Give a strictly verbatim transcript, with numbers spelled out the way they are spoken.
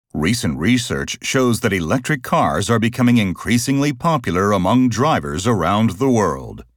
Recent research shows that electric cars are becoming increasingly popular among drivers around the world.